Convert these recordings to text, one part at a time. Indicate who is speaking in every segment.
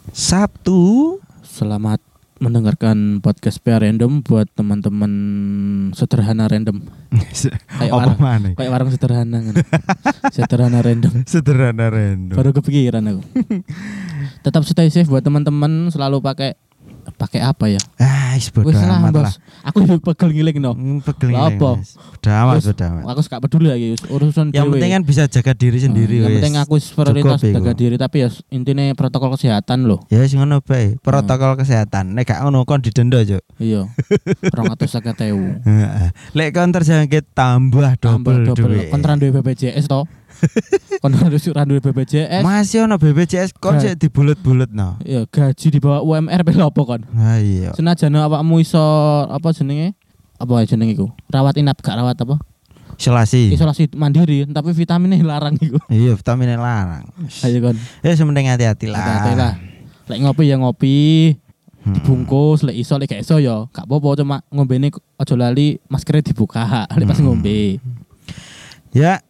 Speaker 1: Sabtu.
Speaker 2: Selamat mendengarkan podcast PA Random buat teman-teman sederhana random.
Speaker 1: Apa mana?
Speaker 2: Kayak warung sederhana kan. Sederhana random.
Speaker 1: Sederhana random.
Speaker 2: Baru kepikiran aku. Tetap stay safe buat teman-teman, selalu pakai apa ya?
Speaker 1: Bodo amat lah.
Speaker 2: Aku juga pegel ngiling no.
Speaker 1: Pegel
Speaker 2: apa?
Speaker 1: Bodo amat.
Speaker 2: Aku gak peduli lagi urusan
Speaker 1: yang penting kan bisa jaga diri sendiri.
Speaker 2: Yang penting aku prioritas
Speaker 1: cukup,
Speaker 2: jaga diri, tapi ya intinya protokol kesehatan loh.
Speaker 1: Ya wis ngono bae. Protokol kesehatan. Nek gak ngono kon didenda, Cuk.
Speaker 2: Iya. 250.000.
Speaker 1: Heeh. Lek kon terjangkit tambah double.
Speaker 2: Kon duwe BPJS to. Kon harus duwe BPJS.
Speaker 1: Masih ono BPJS kon sik dibulet-buletno.
Speaker 2: Iya, gaji di bawah UMR pe opo kon?
Speaker 1: Ha iya.
Speaker 2: Senajan awakmu iso apa jenenge? Apa jenenge iku? Rawat inap gak rawat apa? Isolasi mandiri, tapi vitaminnya larang iku.
Speaker 1: Iya, vitaminnya larang.
Speaker 2: Ayo kon.
Speaker 1: Ya sementing hati-hati lah.
Speaker 2: Hati-hati lah. Lek ngopi ya ngopi. Dibungkus, lek iso lek gak iso ya gak apa-apa, cuma ngombene aja lali maskernya dibuka lek pas ngombe.
Speaker 1: Ya,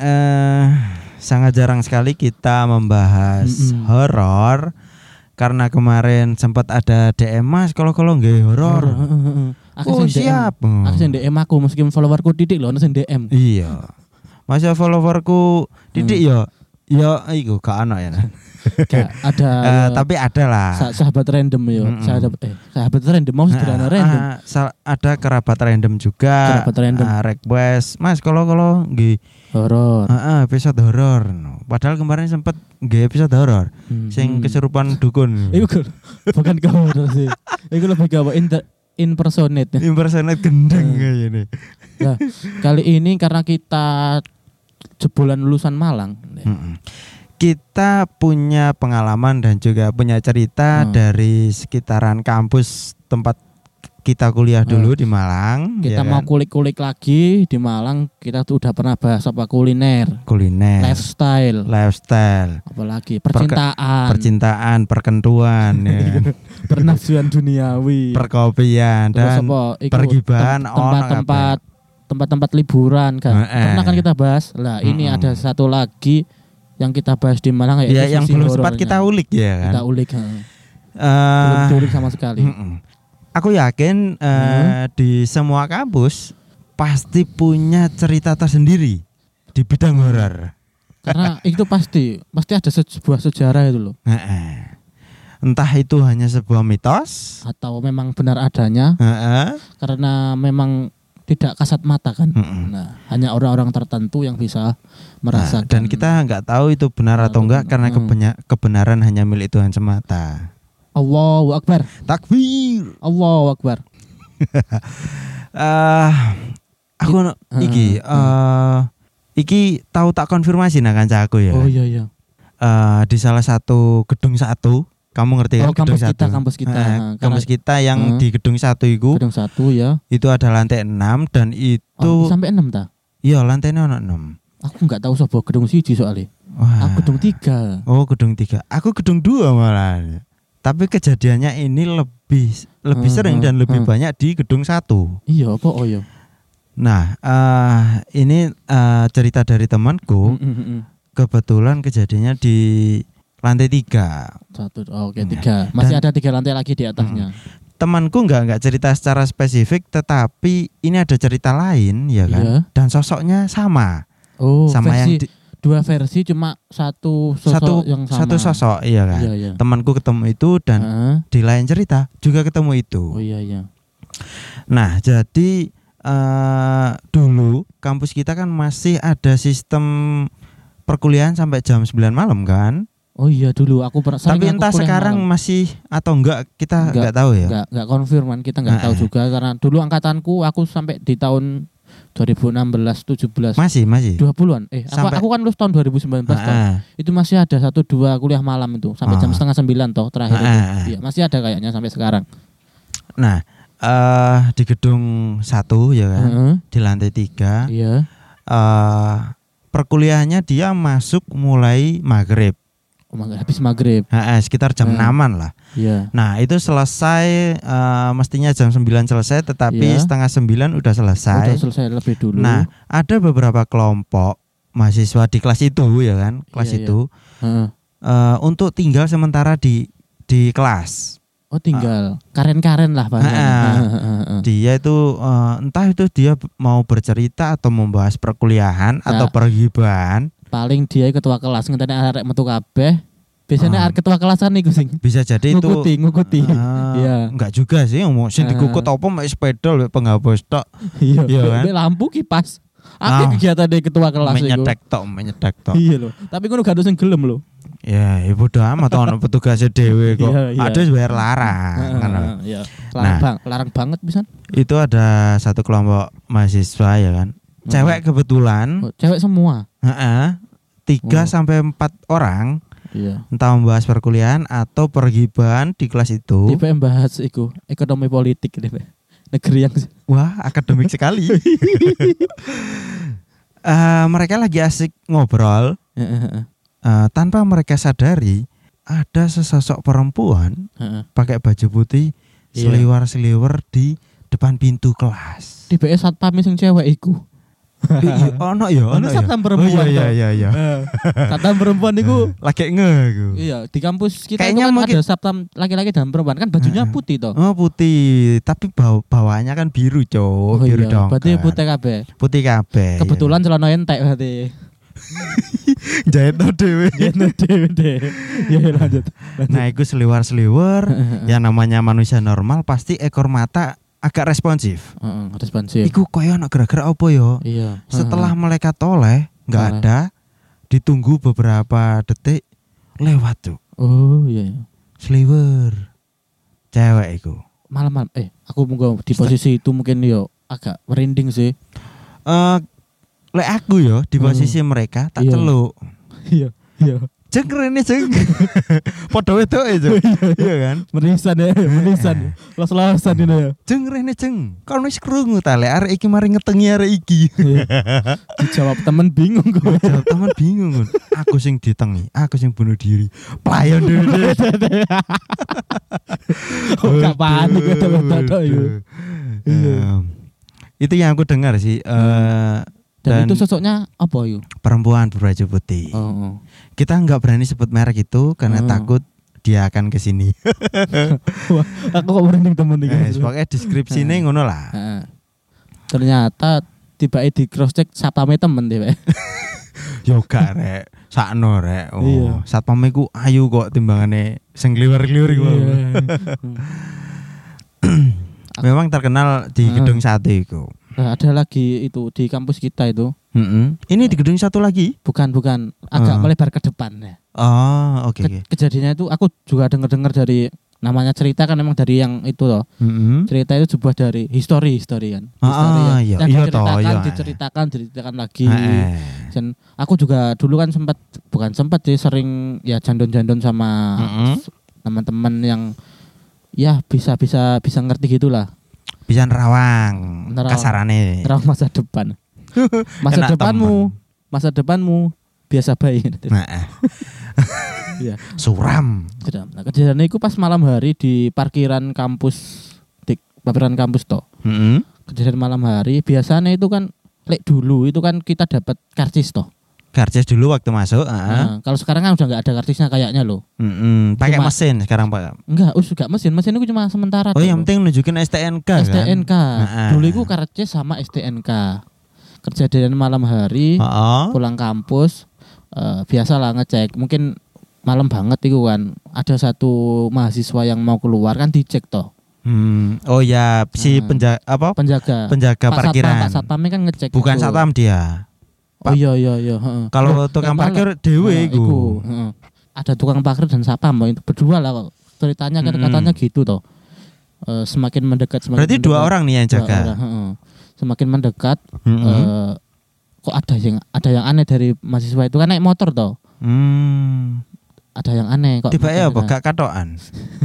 Speaker 1: sangat jarang sekali kita membahas horor karena kemarin sempat ada DM Mas kalau nggih horor.
Speaker 2: Aku siap. Aku sing DM aku meskipun followerku titik lho ono sing DM.
Speaker 1: Iya. Masa followerku titik ya iku gak ono ya.
Speaker 2: Gak ada
Speaker 1: tapi ada lah.
Speaker 2: Sahabat random yo. Sahabat random mau sederhana random.
Speaker 1: Ada kerabat random juga.
Speaker 2: Kerabat random.
Speaker 1: Request, Mas kalau nggih
Speaker 2: horor.
Speaker 1: Episode horor. Padahal kemarin sempat nggih episode horor. Sing kesurupan dukun.
Speaker 2: Iku bukan ke horor sih. Iku lebih ke impersonate
Speaker 1: gendeng kayaknya.
Speaker 2: Nah, kali ini karena kita jebolan lulusan Malang.
Speaker 1: Kita punya pengalaman dan juga punya cerita dari sekitaran kampus tempat kita kuliah dulu di Malang.
Speaker 2: Kita mau kulik-kulik lagi di Malang. Kita tuh udah pernah bahas apa kuliner, lifestyle, apalagi percintaan,
Speaker 1: perkentuan, ya.
Speaker 2: pernafsuan duniawi,
Speaker 1: perkopian, dan pergibahan,
Speaker 2: tempat-tempat liburan kan. Pernah kan kita bahas. Lah ini ada satu lagi yang kita bahas di Malang
Speaker 1: ya, yang belum sempat kita ulik ya kan.
Speaker 2: Kita ulik. Belum diulik sama sekali.
Speaker 1: Aku yakin di semua kampus pasti punya cerita tersendiri di bidang horor.
Speaker 2: Karena itu pasti ada sebuah sejarah itu loh.
Speaker 1: Entah itu hanya sebuah mitos
Speaker 2: atau memang benar adanya. Karena memang tidak kasat mata kan. Nah, hanya orang-orang tertentu yang bisa merasakan.
Speaker 1: Dan kita nggak tahu itu benar atau enggak karena kebenaran hanya milik Tuhan semata.
Speaker 2: Allahu Akbar.
Speaker 1: Takbir.
Speaker 2: Allahu Akbar.
Speaker 1: Aku iki tahu tak konfirmasi nak kancaku ya.
Speaker 2: Oh iya.
Speaker 1: Di salah satu gedung 1, kamu ngerti kan gedung 1? Kampus kita yang di gedung 1 itu.
Speaker 2: Gedung 1 ya.
Speaker 1: Itu ada lantai 6 dan itu
Speaker 2: sampai 6 ta?
Speaker 1: Iya, lantainya ono 6.
Speaker 2: Aku enggak tahu sebuah gedung 1 soalnya. Aku gedung 3.
Speaker 1: Oh, gedung 3. Aku gedung 2 malah. Tapi kejadiannya ini lebih sering dan lebih banyak di gedung 1.
Speaker 2: Iya, apa oh ya.
Speaker 1: Nah, ini cerita dari temanku. Kebetulan kejadiannya di lantai 3.
Speaker 2: Oke, 3. Masih ada 3 lantai lagi di atasnya.
Speaker 1: Temanku enggak cerita secara spesifik, tetapi ini ada cerita lain ya kan. Iya. Dan sosoknya sama.
Speaker 2: Oh,
Speaker 1: sama
Speaker 2: versi, dua versi cuma satu sosok yang sama.
Speaker 1: Satu sosok iya kan. Iya. Temanku ketemu itu dan di lain cerita juga ketemu itu.
Speaker 2: Oh iya.
Speaker 1: Nah, jadi dulu kampus kita kan masih ada sistem perkuliahan sampai jam 9 malam kan?
Speaker 2: Oh iya dulu aku pernah.
Speaker 1: Tapi entah sekarang malam. Masih atau enggak kita enggak tahu ya.
Speaker 2: Enggak konfirman, kita enggak tahu juga karena dulu angkatanku aku sampai di tahun 2016 17
Speaker 1: masih
Speaker 2: 20-an. Aku kan lulus tahun 2019 toh. Itu masih ada 1-2 kuliah malam itu sampai jam 8:30 toh terakhir itu. Iya, masih ada kayaknya sampai sekarang.
Speaker 1: Nah, di gedung 1 ya kan, di lantai 3.
Speaker 2: Iya.
Speaker 1: Perkuliahannya dia masuk mulai maghrib.
Speaker 2: Habis maghrib.
Speaker 1: Sekitar jam 6-an lah.
Speaker 2: Iya.
Speaker 1: Nah, itu selesai mestinya jam 9 selesai, tetapi setengah 9 udah selesai.
Speaker 2: Udah selesai lebih dulu.
Speaker 1: Nah, ada beberapa kelompok mahasiswa di kelas itu ya kan, kelas itu untuk tinggal sementara di di kelas.
Speaker 2: Oh tinggal karen-karen lah Pak.
Speaker 1: Dia itu entah itu dia mau bercerita atau membahas perkuliahan atau pergibahan.
Speaker 2: Paling dia ketua kelas ngenteni arek metu kabeh. Biasanya arek ketua kelasan niku sing.
Speaker 1: Bisa jadi
Speaker 2: ngukuti. Iya.
Speaker 1: Enggak juga sih sing dikukut apa mek sepeda mek penghapus tok.
Speaker 2: Iya kan. Lampu kipas. Akeh kegiatan dari ketua kelas iku.
Speaker 1: Menyetek tok.
Speaker 2: Iya lho. Tapi ngono gak ada sing gelem lho.
Speaker 1: Ya, bodo amat ono petugasnya dhewe kok. Ada bayar larang kan.
Speaker 2: Iya. Larang banget pisan.
Speaker 1: Itu ada satu kelompok mahasiswa ya kan. Cewek kebetulan.
Speaker 2: Cewek semua.
Speaker 1: 3 sampai 4 orang.
Speaker 2: Iya.
Speaker 1: Entah membahas perkuliahan atau pergibahan di kelas itu.
Speaker 2: DPM bahas iku, ekonomi politik DPM. Negeri yang
Speaker 1: akademik sekali. Mereka lagi asik ngobrol. Tanpa mereka sadari ada sesosok perempuan pakai baju putih seliwer-seliwer di depan pintu kelas.
Speaker 2: Di BS satpam sing cewek iku.
Speaker 1: Ono
Speaker 2: satpam perempuan.
Speaker 1: Iya.
Speaker 2: Satpam perempuan iku
Speaker 1: lagi iku.
Speaker 2: Iya, di kampus kita
Speaker 1: kayaknya
Speaker 2: kan ada satpam laki-laki dan perempuan kan bajunya putih toh.
Speaker 1: Oh, putih, tapi bawaannya kan biru, Cok. Biru dong.
Speaker 2: Berarti putih kabeh.
Speaker 1: Putih kabeh.
Speaker 2: Kebetulan celana entek berarti.
Speaker 1: Jahit no dewe.
Speaker 2: Ya lanjut.
Speaker 1: Nah, itu seliwer-seliwer. Yang namanya manusia normal pasti ekor mata agak responsif.
Speaker 2: Responsif.
Speaker 1: Iku koyo ono gara-gara apa yo?
Speaker 2: Iya.
Speaker 1: Setelah melekat toleh, enggak ada. Ditunggu beberapa detik lewat tuh.
Speaker 2: Oh iya.
Speaker 1: Sliwer. Cewek iku.
Speaker 2: Malam-malam aku munggo di posisi itu mungkin yo agak merinding sih.
Speaker 1: Lek aku yo di posisi mereka tak celuk.
Speaker 2: Iya.
Speaker 1: Jeng rene jeng. Padha wedoke itu. Iya kan?
Speaker 2: Menisan. Los-losan ini ya.
Speaker 1: Jeng rene jeng. Kon wis krungu ta lek arek iki mari ngetengi arek iki.
Speaker 2: Dijawab temen bingung kok.
Speaker 1: Temen bingung. Aku sing ditengi, aku sing bunuh diri. Playon dhewe.
Speaker 2: Gak panik betul-betul yo.
Speaker 1: Itu yang aku dengar sih.
Speaker 2: Dan itu sosoknya apa yuk?
Speaker 1: Perempuan berbaju putih. Kita nggak berani sebut merek itu karena takut dia akan kesini.
Speaker 2: Wah, aku kok merinding temen iki.
Speaker 1: Pokoknya deskripsinya ngono lah.
Speaker 2: Ternyata tiba di cross check satpame temen deh.
Speaker 1: Yo gak rek, sakno rek. Satpame ku ayu kok timbangane sing kliwer-kliwer iku. Memang terkenal di gedung sate iku.
Speaker 2: Ada lagi itu di kampus kita itu.
Speaker 1: Ini di gedung satu lagi?
Speaker 2: Bukan, agak melebar ke depan ya.
Speaker 1: Oh, oke.
Speaker 2: Kejadiannya itu aku juga dengar dari namanya cerita kan memang dari yang itu loh. Cerita itu sebuah dari histori kan. Diceritakan lagi. Dan aku juga dulu kan bukan sempat sih sering ya jandon-jandon sama teman-teman yang ya bisa ngerti gitulah.
Speaker 1: Bisa nerawang kasarane.
Speaker 2: Nerawang masa depan. Masa depanmu biasa baik. Iya.
Speaker 1: Suram.
Speaker 2: Nah, kejadiannya itu pas malam hari di parkiran kampus toh. Kejadian malam hari biasanya itu kan dulu itu kan kita dapat karcis toh.
Speaker 1: Karcis dulu waktu masuk.
Speaker 2: Nah, kalau sekarang kan udah nggak ada karcisnya kayaknya loh.
Speaker 1: Pakai mesin sekarang Pak.
Speaker 2: Enggak, gak mesin itu cuma sementara.
Speaker 1: Oh, yang penting nunjukin STNK.
Speaker 2: STNK. Kan? Dulu itu karcis sama STNK. Kejadian malam hari, pulang kampus, biasalah ngecek. Mungkin malam banget itu kan. Ada satu mahasiswa yang mau keluar kan dicek toh.
Speaker 1: Oh ya, si penjaga parkiran.
Speaker 2: Pak Satpamnya kan ngecek.
Speaker 1: Bukan satpam dia.
Speaker 2: Oh iya.
Speaker 1: Kalau tukang parkir dewe iku.
Speaker 2: Ada tukang parkir dan satpam itu berdua lah kok. Ceritanya kan katanya gitu toh. Semakin mendekat
Speaker 1: berarti mendekat, 2 orang nih yang jaga.
Speaker 2: Semakin mendekat kok ada yang aneh dari mahasiswa itu kan naik motor toh. Ada yang aneh kok.
Speaker 1: Tiba ya apa gak katokan.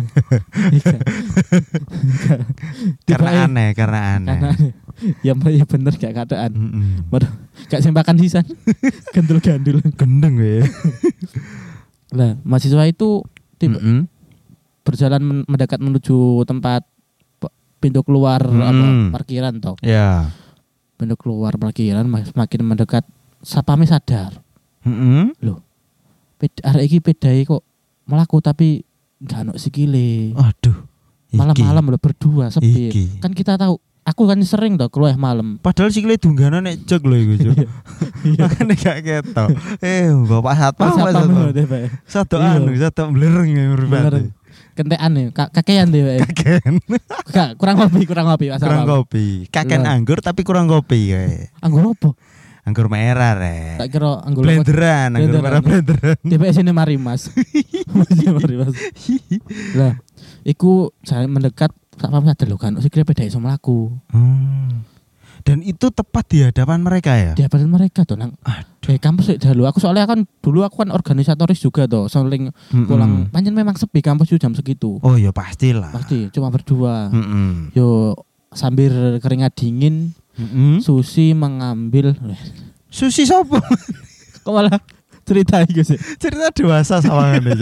Speaker 1: Karena aneh.
Speaker 2: Ya bener gak katokan. Gak sembakan sisan. Gandul-gandul.
Speaker 1: Gendeng we.
Speaker 2: Lah, mahasiswa itu berjalan mendekat menuju tempat pintu keluar parkiran toh.
Speaker 1: Ya.
Speaker 2: Pintu keluar parkiran semakin mendekat satpame sadar. Loh. Arek iki pedhae kok mlaku tapi gak ono sikile.
Speaker 1: Aduh.
Speaker 2: Malam-malam lo berdua sepi.
Speaker 1: Iki.
Speaker 2: Kan kita tahu, aku kan sering toh keluar malam.
Speaker 1: Padahal sikile dunggana nek jog lho iku, Cuk. Makane gak ketok. Bapak satpam. Satu blereng mripate.
Speaker 2: Kentekan nih, kakean deh.
Speaker 1: Kakean.
Speaker 2: Kurang kopi.
Speaker 1: Kurang kopi. Kakean anggur tapi kurang kopi kae.
Speaker 2: Anggur apa?
Speaker 1: Anggur merah rek.
Speaker 2: Tak kira anggur
Speaker 1: blenderan, anggur merah blenderan.
Speaker 2: DPS ini Marimas. Marimas. Lah, iku saya mendekat satpam sadar lho kan, sikile beda iso mlaku.
Speaker 1: Dan itu tepat di hadapan mereka ya?
Speaker 2: Di hadapan mereka tuh nang kampus dulu. Aku soalnya kan dulu aku kan organisatoris juga tuh, sering pulang. Pancen memang sepi kampus jam segitu.
Speaker 1: Oh ya pastilah.
Speaker 2: Pasti cuma berdua. Yo sambil keringat dingin. Susi mengambil.
Speaker 1: Susi sopo?
Speaker 2: Kok malah cerita iku sih?
Speaker 1: Cerita dewasa sawangan aja.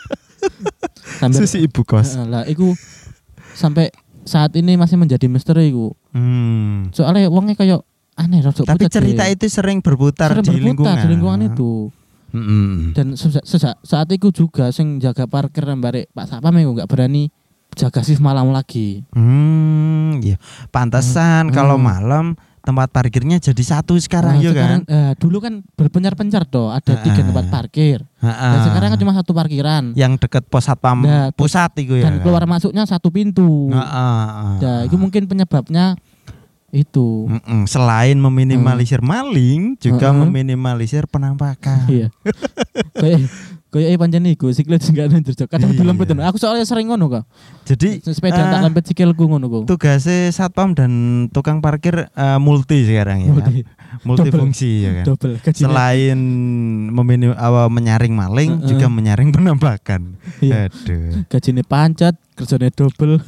Speaker 1: Susi ibu kos.
Speaker 2: Lah iku sampai saat ini masih menjadi misteri iku. Soalnya wongnya kayak aneh rada.
Speaker 1: Tapi cerita itu sering berputar di lingkungan
Speaker 2: itu. Dan saat itu juga sing jaga parkir barek Pak Satpam iku enggak berani jaga shift malam lagi.
Speaker 1: Iya. Pantesan kalau malam tempat parkirnya jadi satu sekarang ya kan.
Speaker 2: Dulu kan berpencar-pencar toh, ada 3 tempat parkir. Dan sekarang kan cuma satu parkiran.
Speaker 1: Yang dekat pos satpam pusat itu ya.
Speaker 2: Dan keluar masuknya satu pintu. Ya, itu mungkin penyebabnya itu.
Speaker 1: Selain meminimalisir maling, juga meminimalisir penampakan.
Speaker 2: Iya. Kayak pancen iku sikile enggak njerjok. Kadang dilempet. Aku soalnya sering ngono kok.
Speaker 1: Jadi
Speaker 2: sepeda tak lempet sikilku ngono kok.
Speaker 1: Tugasnya satpam dan tukang parkir multi sekarang ya. Multifungsi ya kan.
Speaker 2: Double.
Speaker 1: Selain menyaring maling juga menyaring penampakan. Aduh.
Speaker 2: Gajine pancet, kerjane double.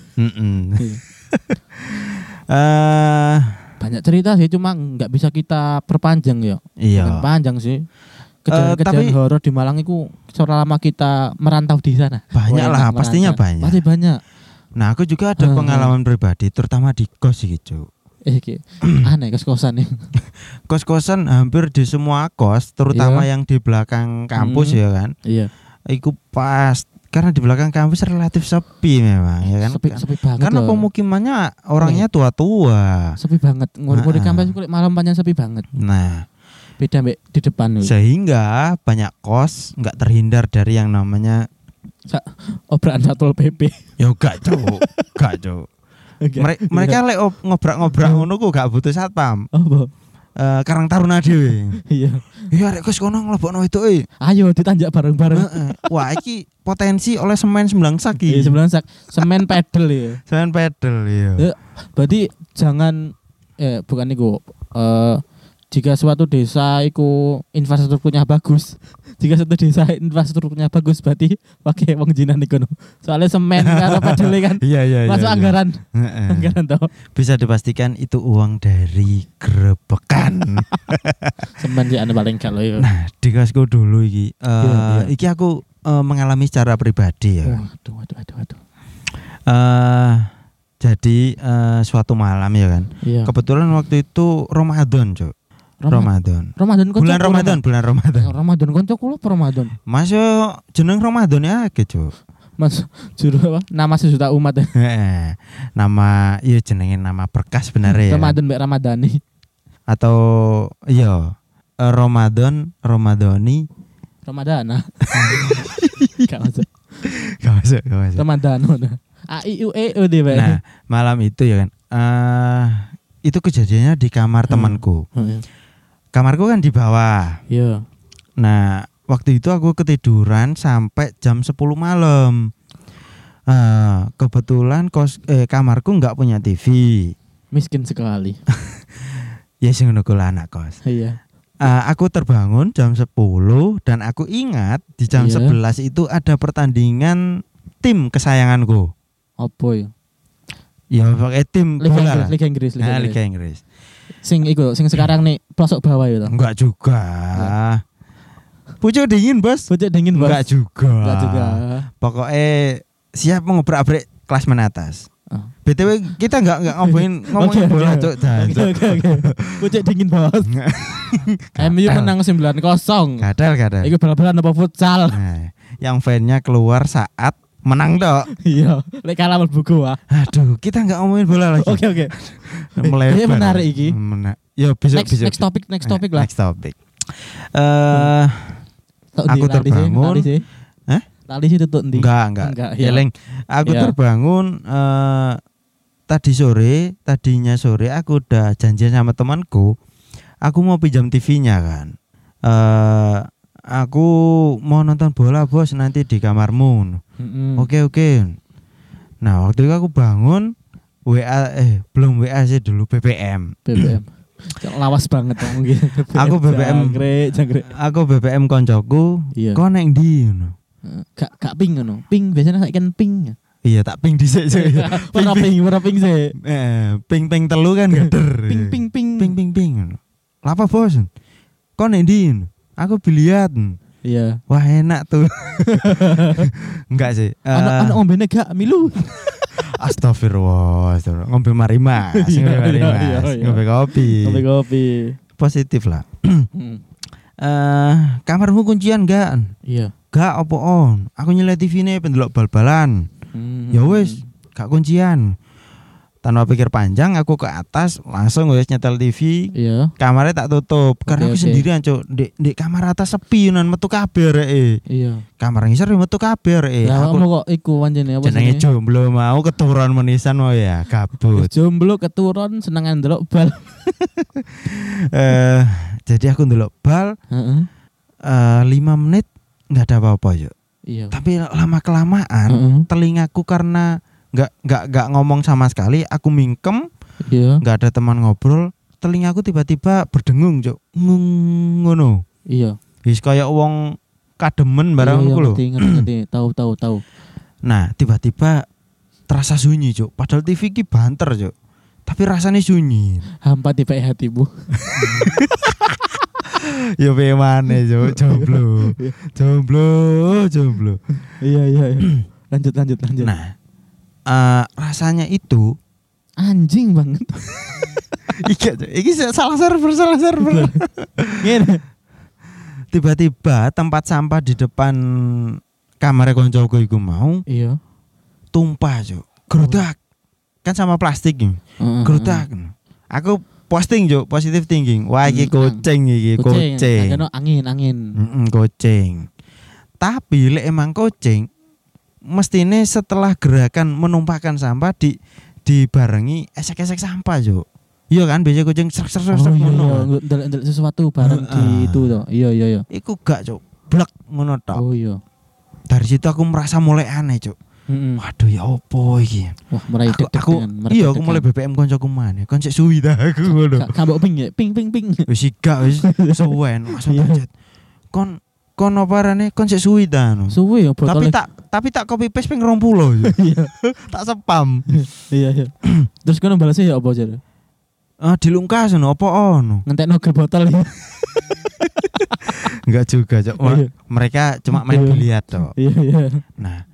Speaker 2: Banyak cerita sih, cuma nggak bisa kita perpanjang ya.
Speaker 1: Iya.
Speaker 2: Panjang sih. Kejadian horor di Malang itu selama kita merantau di sana.
Speaker 1: Banyak lah, pastinya banyak.
Speaker 2: Pasti banyak.
Speaker 1: Nah, aku juga ada pengalaman pribadi, terutama di kos gitu.
Speaker 2: Aneh kos-kosan nih.
Speaker 1: Kos-kosan hampir di semua kos, terutama yang di belakang kampus ya kan.
Speaker 2: Iya.
Speaker 1: Iku pas karena di belakang kampus relatif sepi memang ya kan.
Speaker 2: Sepi banget.
Speaker 1: Karena pemukimannya orangnya tua-tua.
Speaker 2: Sepi banget. Ngomong di kampus kulit malam panjang sepi banget.
Speaker 1: Nah,
Speaker 2: beda di depan nih.
Speaker 1: Sehingga banyak kos nggak terhindar dari yang namanya
Speaker 2: obrakan Satpol PP.
Speaker 1: Ya gak Cuk. Mereka lek ngobrak-ngobrak ngono ku gak butuh satpam.
Speaker 2: Apa?
Speaker 1: Karang Taruna dhewe.
Speaker 2: Iya.
Speaker 1: Iya rek kos kono nglebokno itu.
Speaker 2: Ayo ditanjak bareng-bareng.
Speaker 1: Wah, iki potensi oleh semen 9 sak iki.
Speaker 2: 9 sak. Semen pedal ya.
Speaker 1: Semen pedal ya.
Speaker 2: Berarti jangan bukan iku jika suatu desa itu infrastrukturnya bagus, jika suatu desa infrastrukturnya bagus berarti pakai wong jinan iku. Soalnya semen karo pedale kan.
Speaker 1: Iya.
Speaker 2: Masuk anggaran. Anggaran toh.
Speaker 1: Bisa dipastikan itu uang dari gerebekan.
Speaker 2: Semen sih paling gak loh.
Speaker 1: Nah, di kosku dulu iki. Iki aku mengalami secara pribadi ya.
Speaker 2: Waduh.
Speaker 1: Jadi suatu malam ya kan.
Speaker 2: Iya.
Speaker 1: Kebetulan waktu itu Ramadan, Cuk. Ramadan
Speaker 2: bulan Ramadan. Ramadan koncoku lho Ramadan.
Speaker 1: Masuk jeneng Ramadan ya akeh, Cuk.
Speaker 2: Mas juru apa? Nama sejuta umat.
Speaker 1: Nama iya jenenge nama berkah sebenarnya ya.
Speaker 2: Ramadan mbek Ramadhani.
Speaker 1: Atau iya Ramadhani.
Speaker 2: Ramadana. Gak masuk. Ramadhano. A I U E O D.
Speaker 1: Nah, malam itu ya kan. Itu kejadiannya di kamar temanku. Kamarku kan di bawah.
Speaker 2: Iya.
Speaker 1: Nah, waktu itu aku ketiduran sampai jam 10 malam. Kebetulan kamarku enggak punya TV.
Speaker 2: Miskin sekali.
Speaker 1: Ya sing ngono kuwi anak kos.
Speaker 2: Iya.
Speaker 1: Aku terbangun jam 10 dan aku ingat di jam 11 itu ada pertandingan tim kesayanganku.
Speaker 2: Apa ya?
Speaker 1: Ya pakai tim bola.
Speaker 2: Liga Inggris.
Speaker 1: Liga Inggris.
Speaker 2: Sing sekarang nih pelosok bawah ya toh.
Speaker 1: Enggak juga. Pucuk dingin, Bos. Enggak juga. Pokoknya siap mengobrak-abrik kelas menatas. BTW kita enggak ngomongin bola, Cuk.
Speaker 2: Oke. Pucuk dingin, Bos. MU menang 9-0.
Speaker 1: Gadal.
Speaker 2: Iku bal-balan apa futsal?
Speaker 1: Nah, yang fan-nya keluar saat menang tok.
Speaker 2: Iya, lek kalah mlebu gua.
Speaker 1: Aduh, kita enggak ngomongin bola lagi.
Speaker 2: Oke.
Speaker 1: Melebar.
Speaker 2: Menarik iki.
Speaker 1: Ya besok.
Speaker 2: Next topic lah.
Speaker 1: Next topic. Aku terbangun. Hah?
Speaker 2: Tali sih tutuk ndi?
Speaker 1: Enggak. Eling. Aku terbangun tadinya sore aku udah janjian sama temanku. Aku mau pinjam TV-nya kan. Aku mau nonton bola bos nanti di kamarmu. Oke. Nah waktu itu aku bangun belum WA sih dulu BBM.
Speaker 2: Lawas banget dong gitu.
Speaker 1: Aku BBM
Speaker 2: jangkrik.
Speaker 1: Aku BBM koncoku. Kok neng ndi ngono.
Speaker 2: Gak ping ngono. Ping biasanya saiki kan ping.
Speaker 1: Iya tak ping dhisik sih.
Speaker 2: Ora ping sih.
Speaker 1: Ping telu kan geder.
Speaker 2: Ping.
Speaker 1: Lapa bos? Kok neng ndi? Aku biliat.
Speaker 2: Iya.
Speaker 1: Wah enak tuh. Enggak sih.
Speaker 2: Anak ngombene gak milu.
Speaker 1: Astagfirullah. Ngombe marimas. Ngombe kopi. Positif lah. Kamarmu kuncian enggak?
Speaker 2: Iya.
Speaker 1: Gak apa on. Aku nyelai TV-ne pendelok bal-balan. Ya wis, gak kuncian. Tanpa pikir panjang aku ke atas langsung wis nyetel TV.
Speaker 2: Iya.
Speaker 1: Kamarnya tak tutup karena aku sendirian, Cuk. Di kamar atas sepi nan metu kabeh rek.
Speaker 2: Iya.
Speaker 1: Kamar ngisor metu kabeh rek.
Speaker 2: Lah aku kok iku pancene apa
Speaker 1: jenenge jomblo mau keturunan menisan mau ya, gabut.
Speaker 2: Jomblo keturun senengan ndelok bal.
Speaker 1: Jadi aku ndelok bal. 5 menit enggak ada apa-apa, Cuk.
Speaker 2: Iya.
Speaker 1: Tapi lama kelamaan telingaku karena enggak ngomong sama sekali, aku mingkem.
Speaker 2: Iya.
Speaker 1: Enggak ada teman ngobrol, telingaku tiba-tiba berdengung, Cuk. Ngono.
Speaker 2: Iya.
Speaker 1: Wis kaya wong kademen barang aku lho.
Speaker 2: Ngerti. Tahu.
Speaker 1: Nah, tiba-tiba terasa sunyi, Cuk. Padahal TV ki banter, Cuk. Tapi rasanya sunyi.
Speaker 2: Hampa tiba hatimu.
Speaker 1: Ya piye maneh, Cuk. Jomblo.
Speaker 2: Iya. Lanjut.
Speaker 1: Nah, rasanya itu
Speaker 2: anjing banget.
Speaker 1: Iki salah server.
Speaker 2: Ngene.
Speaker 1: Tiba-tiba tempat sampah di depan kamar koncoku iku mau tumpah, Cuk. Gerodak. Kan sama plastik iki. Gerodak. Aku posting, Cuk, positive thinking. Wah, iki kucing.
Speaker 2: Agak angin.
Speaker 1: Kucing. Tapi lek emang kucing mestine setelah gerakan menumpahkan sampah dibarengi esek-esek sampah, Cuk. Iya kan biasa kucing srek ngono.
Speaker 2: Ndelok sesuatu bareng gitu to. Iya.
Speaker 1: Iku gak, Cuk. Blek ngono tok.
Speaker 2: Oh iya.
Speaker 1: Dari situ aku merasa mulai aneh, Cuk. Waduh ya opo iki.
Speaker 2: Wah, mulai deg-degan.
Speaker 1: Iya, aku mulai BBM koncoku maneh. Kon sik suwi ta aku ngono.
Speaker 2: Gak mbok ping ya. Ping.
Speaker 1: Wis wis suwen langsung pencet. Kon apa rene kon sik suwi ta anu.
Speaker 2: Suwi ya botol.
Speaker 1: Tapi tak copy paste ping 20.
Speaker 2: Iya.
Speaker 1: Tak spam.
Speaker 2: Iya. Terus kono balesnya ya apa jare?
Speaker 1: Dilungkas ngono apa ono.
Speaker 2: Ngentekno gel botol ya.
Speaker 1: Enggak juga, Cok. Mereka cuma main biliar tok.
Speaker 2: Iya.
Speaker 1: Nah,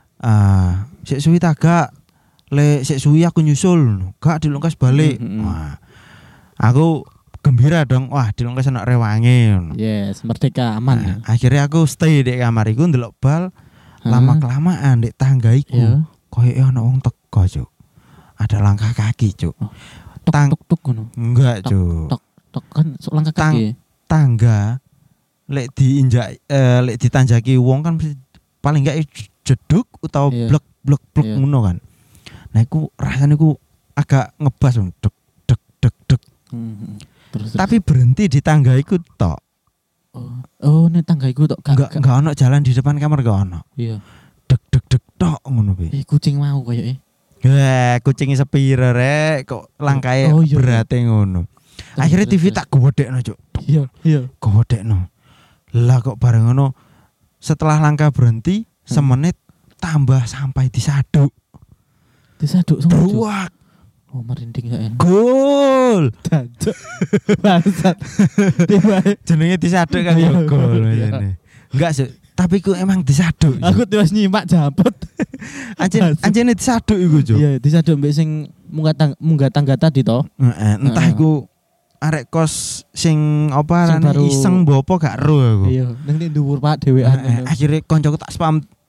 Speaker 1: sik suwi ta gak? Lek sik suwi aku nyusul. Gak dilungkas balik. Wah. Aku gembira dong. Wah, dilungkas anak rewange ngono.
Speaker 2: Yes, merdeka aman.
Speaker 1: Nah, akhirnya aku stay di kamar iku ndelok bal. Lama kelamaan di tangga iku koyo ana wong teko, Cuk. Ada langkah kaki, Cuk.
Speaker 2: Tuk ngono.
Speaker 1: Enggak, Cuk.
Speaker 2: Tok kan langkah kaki.
Speaker 1: Tangga lek diinjak lek ditanjaki wong kan paling enggak jeduk utawa blek ngono kan. Nah, iku rasane iku agak ngebas dek. Terus. Tapi berhenti di tangga iku tok.
Speaker 2: Oh, nek tangga iku tok
Speaker 1: enggak ono jalan di depan kamar enggak ono.
Speaker 2: Iya.
Speaker 1: Dek tok ngono kuwi.
Speaker 2: Kucing mau koyoke.
Speaker 1: Kucing sepiro rek kok langkae berate ngono. Akhirnya TV tak gowedekno, Cuk.
Speaker 2: Iya.
Speaker 1: Gowedekno. Lah kok bareng ngono setelah langkah berhenti semenit tambah sampai disaduk.
Speaker 2: Disaduk semua.
Speaker 1: Ruak.
Speaker 2: Oh, merinding gak enak.
Speaker 1: Gol.
Speaker 2: Jancuk. Bangsat. Tiba
Speaker 1: jenenge disaduk kan ya gol ngene. Enggak sih, tapi ku emang disaduk.
Speaker 2: Aku terus nyimak jabut.
Speaker 1: Anjene disaduk iku, Cuk.
Speaker 2: Iya, disaduk mbek sing munggah tangga tadi to.
Speaker 1: Entah iku arek kos sing apa rane iseng bopo gak ero aku.
Speaker 2: Iya, ning dhuwur Pak dhewean.
Speaker 1: Akhire koncoku tak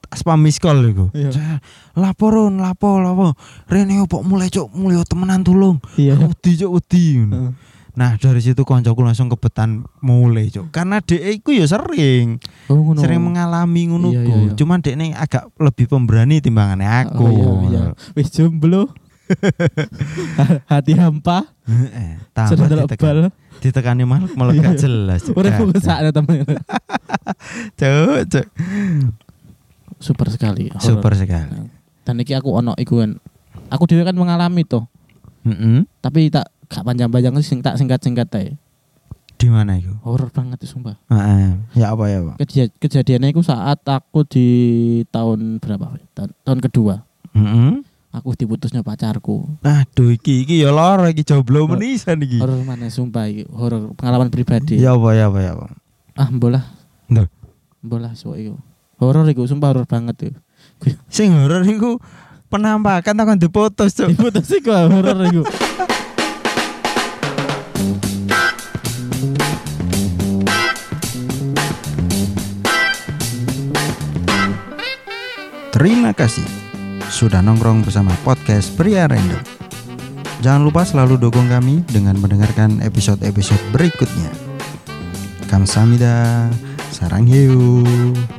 Speaker 1: spam miss call iku. Laporon, lapo. Rene opo mulai temenan tulung. Wedi cuk wedi. Nah, dari situ koncoku langsung kebetan mulai cuk. Karena dhek iku ya sering mengalami ngono ku. Cuman dhekne agak lebih pemberani timbangane aku.
Speaker 2: Wis jomblo. Hati hampa.
Speaker 1: Tambah ditekani malah gak jelas.
Speaker 2: Ora kok sakne temen.
Speaker 1: Cuk.
Speaker 2: Super sekali. Dan iki aku ono iku kan. Aku dhewe kan mengalami to. Tapi tak gak panjang-panjang sing tak singkat-singkat ae.
Speaker 1: Di mana itu?
Speaker 2: Horor banget itu sumpah.
Speaker 1: Ya apa ya, Pak?
Speaker 2: Kejadiannya itu saat aku di tahun berapa? Tahun kedua. Aku diputusnya pacarku.
Speaker 1: Aduh iki ya lara iki jomblo menisan iki.
Speaker 2: Horor mana sumpah iki, horor pengalaman pribadi.
Speaker 1: Ya apa.
Speaker 2: Mbolah.
Speaker 1: Ndak.
Speaker 2: Mbolah sok iku. Horor iku sumpah horor banget tuh.
Speaker 1: Sing horor iku penampakan takon diputus, Cuk.
Speaker 2: Diputus iku horor iku.
Speaker 1: Terima kasih sudah nongkrong bersama podcast Pria Random. Jangan lupa selalu dukung kami dengan mendengarkan episode-episode berikutnya. Kamsahamnida, sarang hiu.